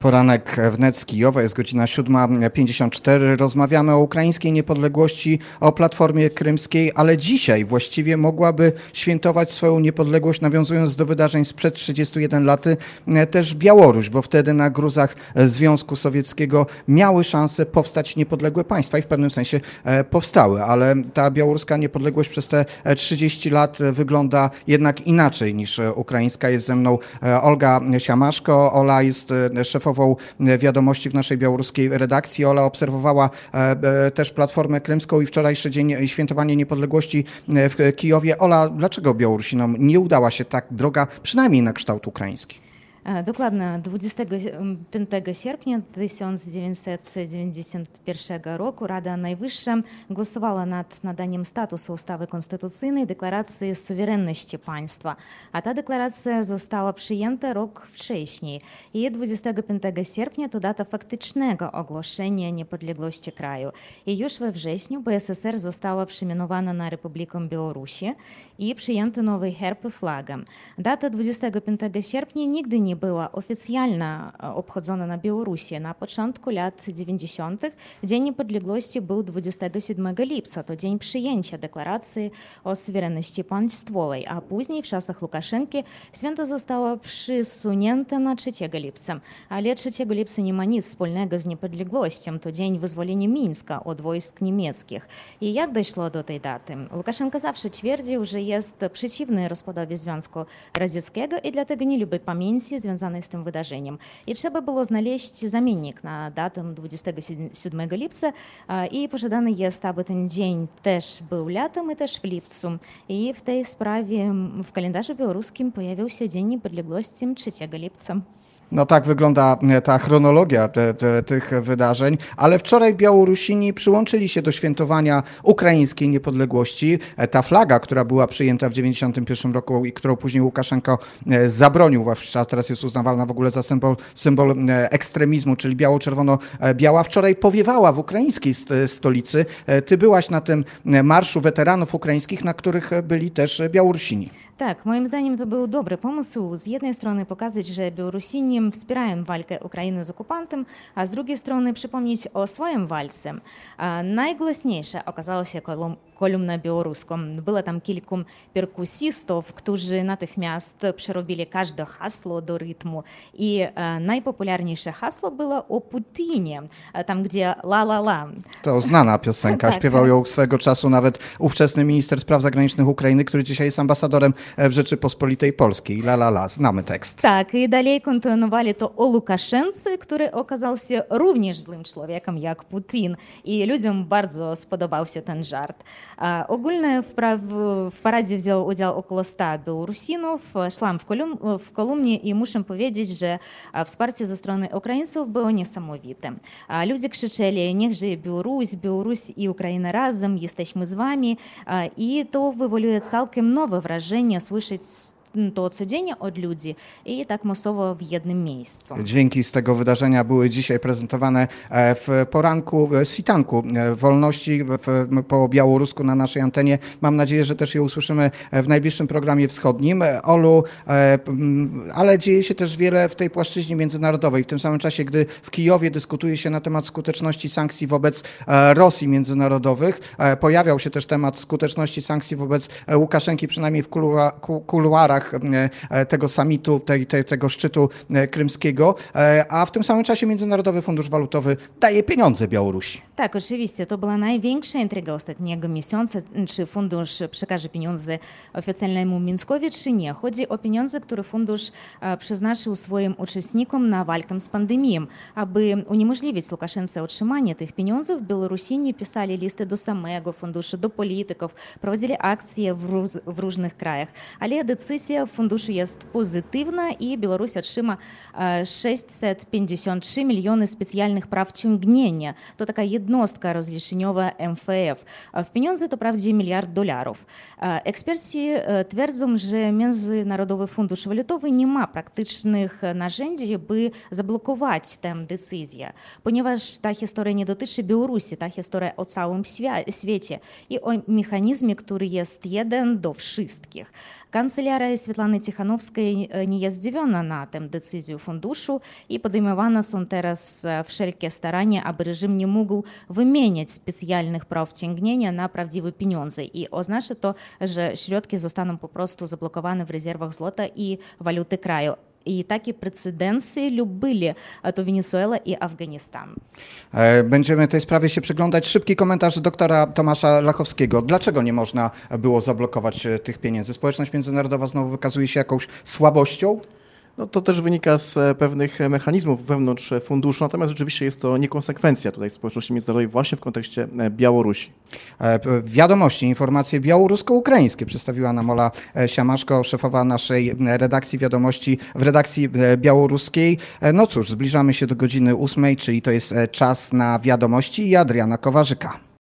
Poranek wnet z Kijowa, jest godzina 7:54. Rozmawiamy o ukraińskiej niepodległości, o Platformie Krymskiej, ale dzisiaj właściwie mogłaby świętować swoją niepodległość, nawiązując do wydarzeń sprzed 31 lat, też Białoruś, bo wtedy na gruzach Związku Sowieckiego miały szansę powstać niepodległe państwa i w pewnym sensie powstały, ale ta białoruska niepodległość przez te 30 lat wygląda jednak inaczej niż ukraińska. Jest ze mną Olga Siamaszko. Ola jest szefową wiadomości w naszej białoruskiej redakcji. Ola obserwowała też Platformę Krymską i wczorajszy dzień świętowanie niepodległości w Kijowie. Ola, dlaczego Białorusinom nie udała się tak droga, przynajmniej na kształt ukraiński? Dokładnie 25 sierpnia 1991 roku Rada Najwyższa głosowała nad nadaniem statusu ustawy konstytucyjnej deklaracji suwerenności państwa, a ta deklaracja została przyjęta rok wcześniej. I 25 sierpnia to data faktycznego ogłoszenia niepodległości kraju. I już we wrześniu BSSR została przemianowana na Republikę Białorusi i przyjęty nowy herb i flagę. Data 25 sierpnia nigdy nie była oficjalnie obchodzona na Białorusi. Na początku lat 90. Dzień Niepodległości był 27 lipca, to dzień przyjęcia deklaracji o suwerenności państwowej, a później w czasach Łukaszenki święto zostało przesunięte na 3 lipca. Ale 3 lipca nie ma nic wspólnego z niepodległością, to dzień wyzwolenia Mińska od wojsk niemieckich. I jak doszło do tej daty? Łukaszenka zawsze twierdził, że jest przeciwny rozpadowi Związku Radzieckiego i dlatego nie lubi pamięci związanej z tym wydarzeniem. I trzeba było znaleźć zamiennik na datę 27 lipca i pożadane jest, aby ten dzień też był latem i też w lipcu. I w tej sprawie w kalendarzu białoruskim pojawił się Dzień Niepodległości 3 lipca. No tak wygląda ta chronologia tych wydarzeń, ale wczoraj Białorusini przyłączyli się do świętowania ukraińskiej niepodległości. Ta flaga, która była przyjęta w 1991 roku i którą później Łukaszenko zabronił, a teraz jest uznawana w ogóle za symbol ekstremizmu, czyli biało-czerwono-biała, wczoraj powiewała w ukraińskiej stolicy. Ty byłaś na tym marszu weteranów ukraińskich, na których byli też Białorusini. Tak, moim zdaniem to był dobry pomysł. Z jednej strony pokazać, że Białorusini wspierają walkę Ukrainy z okupantem, a z drugiej strony przypomnieć o swoim walce. Najgłośniejsza okazała się kolumna białoruską. Było tam kilku perkusistów, którzy natychmiast przerobili każde hasło do rytmu. I najpopularniejsze hasło było o Putinie, tam gdzie la la la. To znana piosenka, śpiewał ją swego czasu nawet ówczesny minister spraw zagranicznych Ukrainy, który dzisiaj jest ambasadorem w Rzeczypospolitej Polskiej. La la la, znamy tekst. Tak, i dalej kontynuowali to o Łukaszence, który okazał się również złym człowiekiem jak Putin. I ludziom bardzo spodobał się ten żart. Ogólnie w paradzie wzięło udział około 100 Białorusinów. Szłam w kolumnie i muszę powiedzieć, że wsparcie ze strony Ukraińców było niesamowite. Ludzie krzyczeli: niech żyje Białoruś, Białoruś i Ukraina razem, jesteśmy z wami. I to wywołuje całkiem nowe wrażenie słyszeć to codziennie od ludzi i tak masowo w jednym miejscu. Dźwięki z tego wydarzenia były dzisiaj prezentowane w poranku, świtanku wolności po białorusku na naszej antenie. Mam nadzieję, że też je usłyszymy w najbliższym programie wschodnim. Olu, ale dzieje się też wiele w tej płaszczyźnie międzynarodowej. W tym samym czasie, gdy w Kijowie dyskutuje się na temat skuteczności sankcji wobec Rosji międzynarodowych, pojawiał się też temat skuteczności sankcji wobec Łukaszenki, przynajmniej w kuluarach tego summitu, tego szczytu krymskiego, a w tym samym czasie Międzynarodowy Fundusz Walutowy daje pieniądze Białorusi. Tak, oczywiście. To była największa intryga ostatniego miesiąca. Czy fundusz przekaże pieniądze oficjalnemu Mińskowi, czy nie. Chodzi o pieniądze, które fundusz przeznaczył swoim uczestnikom na walkę z pandemią. Aby uniemożliwić Łukaszence otrzymanie tych pieniędzy, Białorusini pisali listy do samego funduszu, do polityków, prowadzili akcje w różnych krajach. Ale decyzja funduszu jest pozytywna i Białoruś otrzyma 653 miliony specjalnych praw ciągnienia. To taka jednostka rozliczeniowa MFF. W pieniądze to wprawdzie $1 miliard. Eksperci twierdzą, że Międzynarodowy Fundusz Walutowy nie ma praktycznych narzędzi, by zablokować tę decyzję, ponieważ ta historia nie dotyczy Białorusi, ta historia o całym świecie i o mechanizmie, który jest jeden do wszystkich. Kancelaria Світлани Тихановської nie jest zdziwiona na tę decyzję funduszu i podejmowane są teraz wszelkie starania, aby reżim nie mógł wymieniać specjalnych praw ciągnienia na prawdziwe pieniądze. I oznacza to, że środki zostaną po prostu zablokowane w rezerwach złota i waluty kraju. I takie precedensy były to Wenezuela i Afganistan. Będziemy tej sprawie się przyglądać. Szybki komentarz doktora Tomasza Lachowskiego. Dlaczego nie można było zablokować tych pieniędzy? Społeczność międzynarodowa znowu wykazuje się jakąś słabością? No to też wynika z pewnych mechanizmów wewnątrz funduszu, natomiast rzeczywiście jest to niekonsekwencja tutaj społeczności międzynarodowej właśnie w kontekście Białorusi. Wiadomości, informacje białorusko-ukraińskie przedstawiła nam Ola Siamaszko, szefowa naszej redakcji wiadomości w redakcji białoruskiej. No cóż, zbliżamy się do godziny 8, czyli to jest czas na wiadomości i Adriana Kowarzyka.